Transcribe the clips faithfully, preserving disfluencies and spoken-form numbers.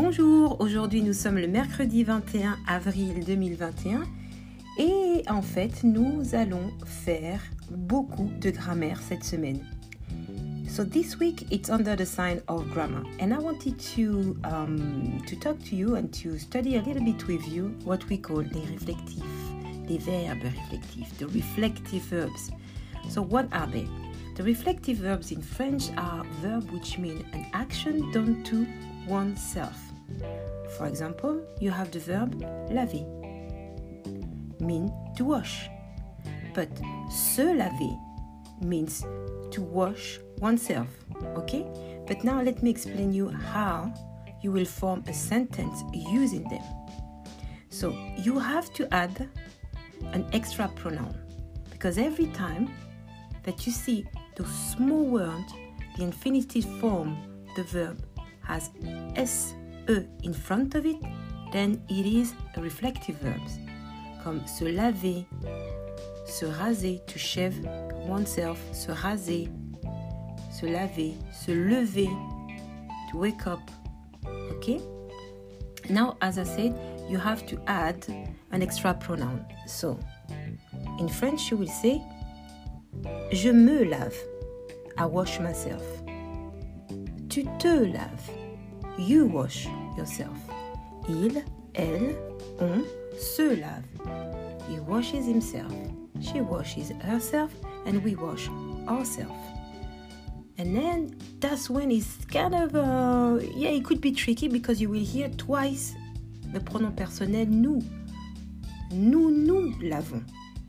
Bonjour, aujourd'hui nous sommes le mercredi vingt et un avril deux mille vingt et un et en fait nous allons faire beaucoup de grammaire cette semaine. So this week it's under the sign of grammar and I wanted to um, to talk to you and to study a little bit with you what we call les réflectifs, les verbes réflectifs, the reflective verbs. So what are they? The reflective verbs in French are verbs which mean an action done to oneself. For example, you have the verb laver, mean to wash. But se laver means to wash oneself, okay? But now let me explain you how you will form a sentence using them. So you have to add an extra pronoun because every time that you see those small words, the infinitive form, the verb has S E in front of it, then it is a reflective verb. Comme se laver, se raser, to shave oneself, se raser, se laver, se lever, to wake up. Okay? Now, as I said, you have to add an extra pronoun. So, in French, you will say, je me lave, I wash myself. Tu te laves, you wash yourself. Il, elle, on se lave. He washes himself, she washes herself, and we wash ourselves. And then that's when it's kind of, uh, yeah, it could be tricky because you will hear twice the pronom personnel nous. Nous, nous lavons.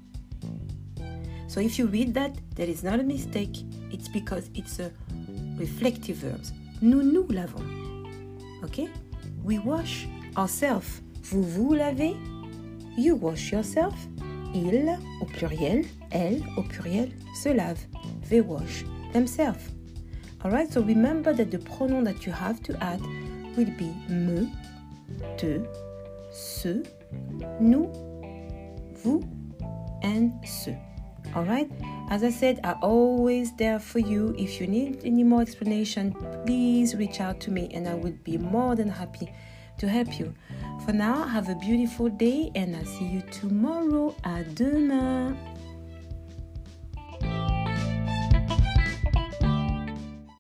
So if you read that, there is not a mistake. It's because it's a reflective verb. Nous, nous lavons. Okay? We wash ourselves. Vous vous lavez. You wash yourself. Ils, au pluriel. Elle, au pluriel, se lave. They wash themselves. Alright, so remember that the pronoun that you have to add will be me, te, se, nous, vous, and ce. Alright, as I said, I'm always there for you. If you need any more explanation, please reach out to me and I will be more than happy to help you. For now, have a beautiful day and I'll see you tomorrow. À demain.